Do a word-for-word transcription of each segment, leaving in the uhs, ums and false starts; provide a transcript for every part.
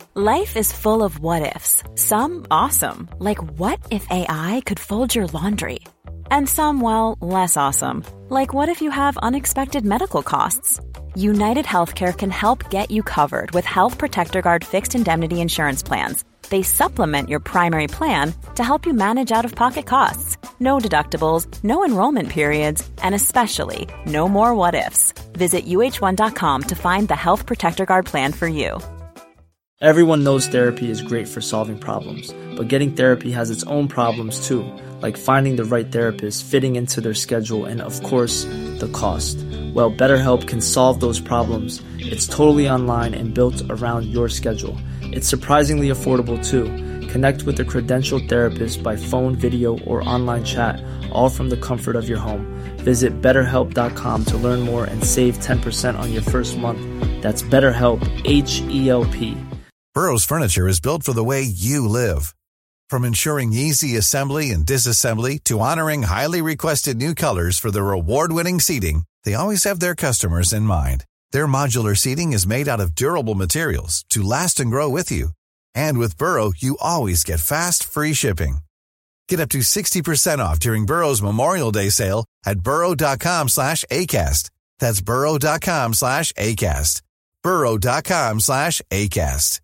Life is full of what-ifs. Some awesome, like what if A I could fold your laundry? And some, well, less awesome, like what if you have unexpected medical costs? United Healthcare can help get you covered with Health Protector Guard fixed indemnity insurance plans. They supplement your primary plan to help you manage out-of-pocket costs. No deductibles, no enrollment periods, and especially no more what-ifs. Visit U H one dot com to find the Health Protector Guard plan for you. Everyone knows therapy is great for solving problems, but getting therapy has its own problems too, like finding the right therapist, fitting into their schedule, and of course, the cost. Well, BetterHelp can solve those problems. It's totally online and built around your schedule. It's surprisingly affordable too. Connect with a credentialed therapist by phone, video, or online chat, all from the comfort of your home. Visit better help dot com to learn more and save ten percent on your first month. That's BetterHelp, H E L P. Burrow's furniture is built for the way you live. From ensuring easy assembly and disassembly to honoring highly requested new colors for their award-winning seating, they always have their customers in mind. Their modular seating is made out of durable materials to last and grow with you. And with Burrow, you always get fast, free shipping. Get up to sixty percent off during Burrow's Memorial Day sale at burrow dot com slash ACAST. That's burrow dot com slash ACAST. burrow dot com slash ACAST.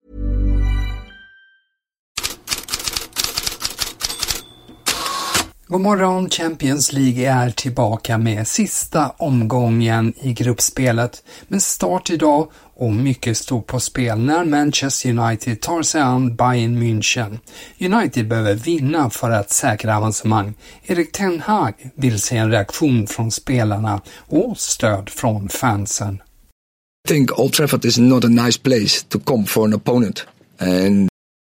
God morgon, Champions League är tillbaka med sista omgången i gruppspelet. Men start idag och mycket stod på spel när Manchester United tar sig an Bayern München. United behöver vinna för att säkra avancemang. Erik Ten Hag vill se en reaktion från spelarna och stöd från fansen. I think Old Trafford is not a nice place to come for an opponent. And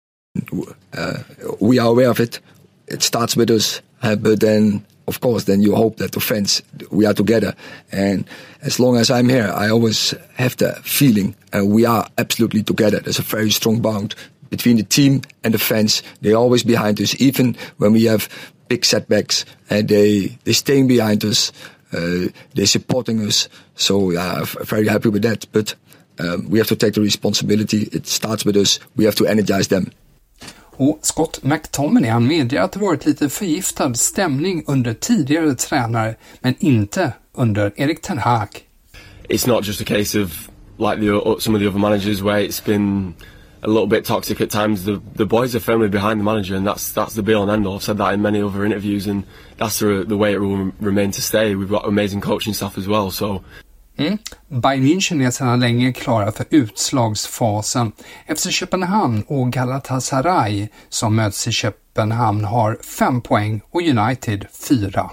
uh, we are aware of it. It starts with us. Uh, but then, of course, then you hope that the fans, we are together. And as long as I'm here, I always have the feeling uh, we are absolutely together. There's a very strong bond between the team and the fans. They're always behind us, even when we have big setbacks. And they, they're staying behind us. Uh, they're supporting us. So yeah, I'm very happy with that. But um, we have to take the responsibility. It starts with us. We have to energize them. Och Scott McTominay, han medger att det varit lite förgiftad stämning under tidigare tränare, men inte under Erik Ten Hag. It's not just a case of like the some of the other managers where it's been a little bit toxic at times. The the boys are firmly behind the manager, and that's that's the be all and end all. I've said that in many other interviews, and that's the, the way it will remain to stay. We've got amazing coaching staff as well, so. Mm. Bayern München är sedan länge klara för utslagsfasen. F C Köpenhamn och Galatasaray som möts i Köpenhamn har fem poäng och United fyra.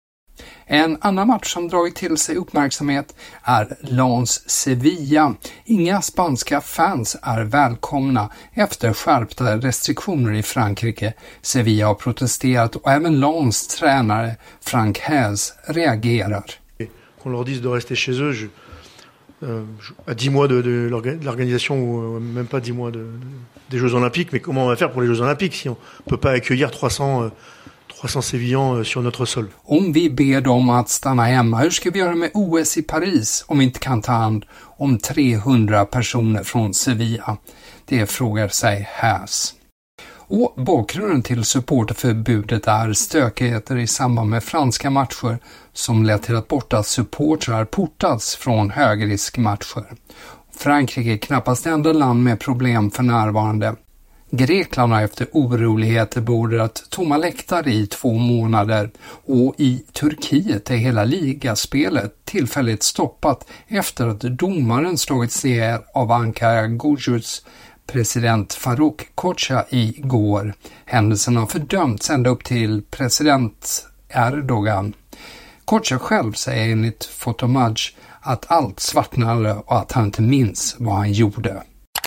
En annan match som dragit till sig uppmärksamhet är Lens Sevilla. Inga spanska fans är välkomna efter skärpta restriktioner i Frankrike. Sevilla har protesterat och även Lens tränare Frank Hez reagerar. Qu'on leur dise de rester chez eux je, euh, à dix mois de, de l'organisation ou même pas dix mois de, de, des Jeux Olympiques, mais comment on va faire pour les Jeux Olympiques si on peut pas accueillir trois cents Sevillans sur notre sol? Om vi ber dem att stanna hemma, hur ska vi göra med O S i Paris om vi inte kan ta hand om trehundra personer från Sevilla? Det frågar sig Häs. Och bakgrunden till supporterförbudet är stökigheter i samband med franska matcher som lett till att borta supportrar portats från högriskmatcher. Frankrike är knappast enda land med problem för närvarande. Grekland har efter oroligheter beordrat tomma läktare i två månader och i Turkiet är hela ligaspelet tillfälligt stoppat efter att domaren slagits ner av Ankara Gucu's president Faruk Koca igår. Händelsen har fördömts ända upp till president Erdogan. Koca själv säger enligt Fotomage att allt svartnade och att han inte minns vad han gjorde.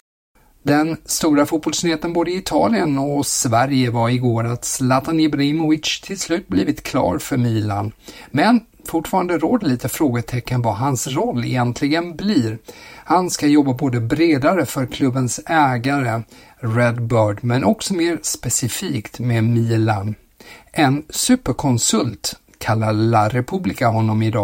Den stora fotbollsnyheten både i Italien och Sverige var igår att Zlatan Ibrahimovic till slut blivit klar för Milan. Men fortfarande råder lite frågetecken vad hans roll egentligen blir. Han ska jobba både bredare för klubbens ägare Redbird men också mer specifikt med Milan. En superkonsult kallar La Repubblica honom idag.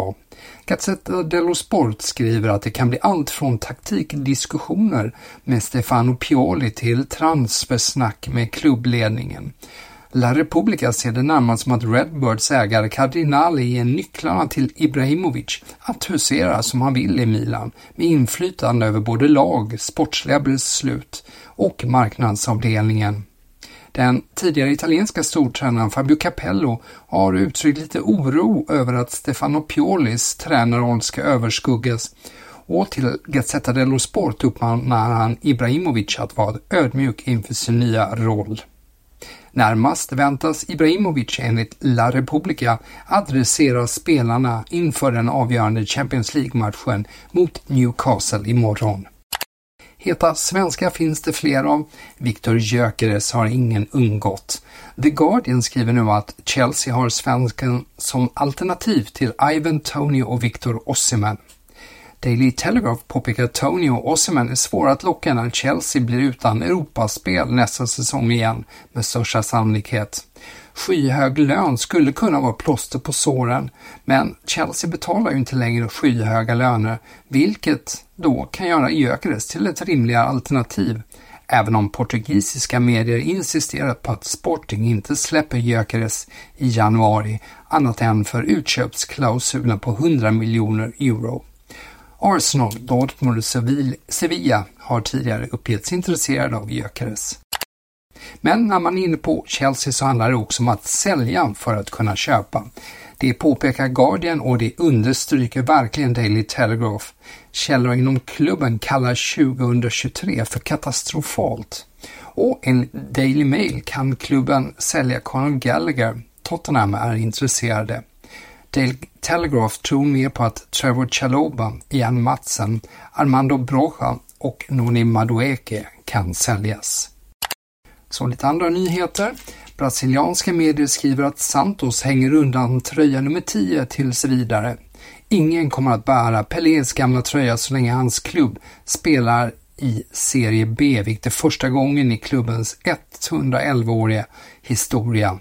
Gazzetta dello Sport skriver att det kan bli allt från taktikdiskussioner med Stefano Pioli till transfersnack med klubbledningen. La Repubblica ser det närmast som att Redbirds ägare Cardinali ger nycklarna till Ibrahimovic att husera som han vill i Milan med inflytande över både lag, sportsliga beslut och marknadsavdelningen. Den tidigare italienska stortränaren Fabio Capello har uttryckt lite oro över att Stefano Piolis tränarroll ska överskuggas, och till Gazzetta dello Sport uppmanar han Ibrahimovic att vara ödmjuk inför sin nya roll. Närmast väntas Ibrahimovic enligt La Repubblica adressera spelarna inför den avgörande Champions League-matchen mot Newcastle imorgon. Heta svenska finns det fler av. Viktor Gyökeres har ingen undgått. The Guardian skriver nu att Chelsea har svensken som alternativ till Ivan Toney och Victor Osimhen. Daily Telegraph påpekar att Toney och Osimhen är svåra att locka när Chelsea blir utan Europaspel nästa säsong igen med största sannolikhet. Skyhög lön skulle kunna vara plåster på såren, men Chelsea betalar ju inte längre skyhöga löner, vilket då kan göra Gyökeres till ett rimligare alternativ, även om portugisiska medier insisterat på att Sporting inte släpper Gyökeres i januari annat än för utköpsklausulen på hundra miljoner euro. Arsenal, Dortmund och Sevilla har tidigare uppgetts intresserade av Gyökeres. Men när man är inne på Chelsea så handlar det också om att sälja för att kunna köpa. Det påpekar Guardian och det understryker verkligen Daily Telegraph. Källor inom klubben kallar tjugohundratjugotre för katastrofalt. Och enligt Daily Mail kan klubben sälja Conor Gallagher. Tottenham är intresserade. Daily Telegraph tror mer på att Trevor Chalobah, Ian Madsen, Armando Broja och Noni Madueke kan säljas. Så lite andra nyheter. Brasilianska medier skriver att Santos hänger undan tröja nummer tio tills vidare. Ingen kommer att bära Pelés gamla tröja så länge hans klubb spelar i Serie B, vilket är första gången i klubbens etthundraelva-åriga historia.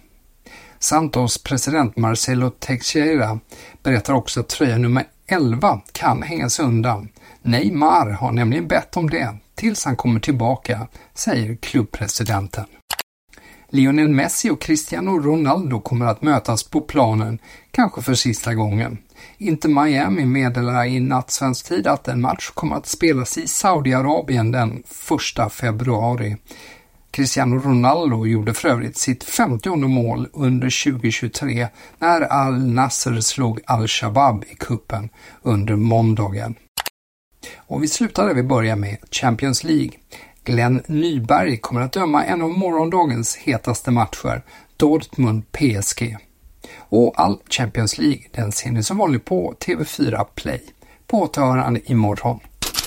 Santos president Marcelo Teixeira berättar också att tröja nummer elva kan hängas undan. Neymar har nämligen bett om det tills han kommer tillbaka, säger klubbpresidenten. Lionel Messi och Cristiano Ronaldo kommer att mötas på planen, kanske för sista gången. Inter Miami meddelar i natt svensk tid att en match kommer att spelas i Saudiarabien den första februari. Cristiano Ronaldo gjorde för övrigt sitt femtionde mål under tjugohundratjugotre när Al Nassr slog Al-Shabaab i kuppen under måndagen. Och vi slutar där vi börjar med Champions League. Glenn Nyberg kommer att döma en av morgondagens hetaste matcher, Dortmund P S G. Och all Champions League den ser ni som vanligt på T V fyra Play. På återhörande imorgon.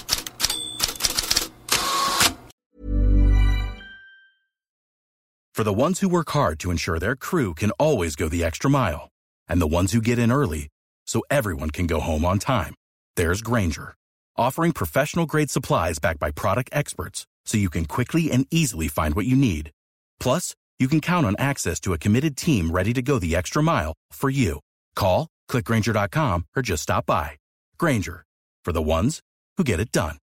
For the ones who work hard to ensure their crew can always go the extra mile, and the ones who get in early so everyone can go home on time, there's Grainger, offering professional-grade supplies backed by product experts so you can quickly and easily find what you need. Plus, you can count on access to a committed team ready to go the extra mile for you. Call, click Grainger dot com, or just stop by. Grainger, for the ones who get it done.